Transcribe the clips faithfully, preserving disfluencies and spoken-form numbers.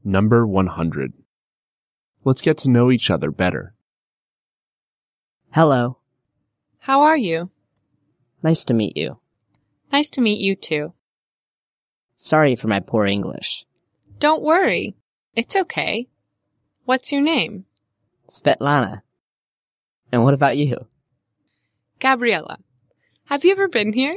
Number one hundred. Let's get to know each other better. Hello. How are you? Nice to meet you. Nice to meet you too. Sorry for my poor English. Don't worry. It's okay. What's your name? Svetlana. And what about you? Gabriella. Have you ever been here?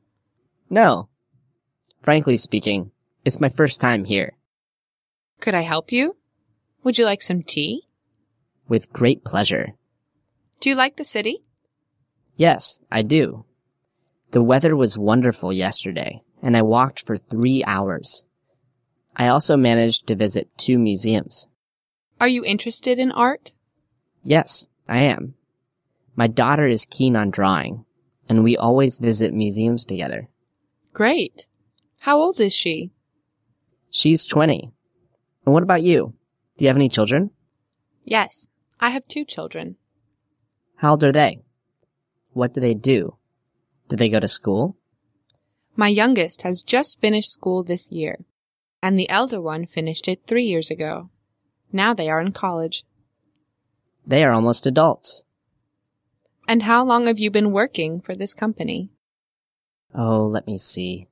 No. Frankly speaking, it's my first time here. Could I help you? Would you like some tea? With great pleasure. Do you like the city? Yes, I do. The weather was wonderful yesterday, and I walked for three hours. I also managed to visit two museums. Are you interested in art? Yes, I am. My daughter is keen on drawing, and we always visit museums together. Great. How old is she? She's twenty. And what about you? Do you have any children? Yes, I have two children. How old are they? What do they do? Do they go to school? My youngest has just finished school this year, and the elder one finished it three years ago. Now they are in college. They are almost adults. And how long have you been working for this company? Oh, let me see.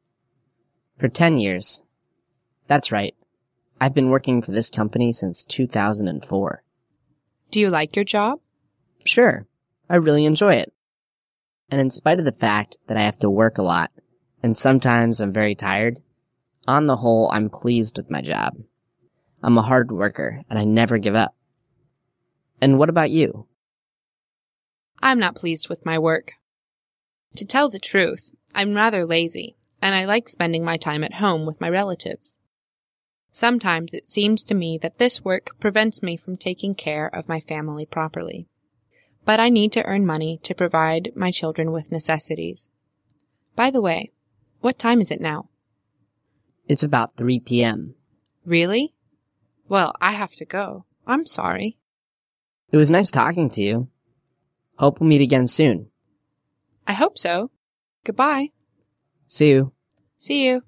For ten years. That's right. I've been working for this company since two thousand four. Do you like your job? Sure. I really enjoy it. And in spite of the fact that I have to work a lot, and sometimes I'm very tired, on the whole, I'm pleased with my job. I'm a hard worker, and I never give up. And what about you? I'm not pleased with my work. To tell the truth, I'm rather lazy, and I like spending my time at home with my relatives. Sometimes it seems to me that this work prevents me from taking care of my family properly. But I need to earn money to provide my children with necessities. By the way, what time is it now? It's about three p.m. Really? Well, I have to go. I'm sorry. It was nice talking to you. Hope we'll meet again soon. I hope so. Goodbye. See you. See you.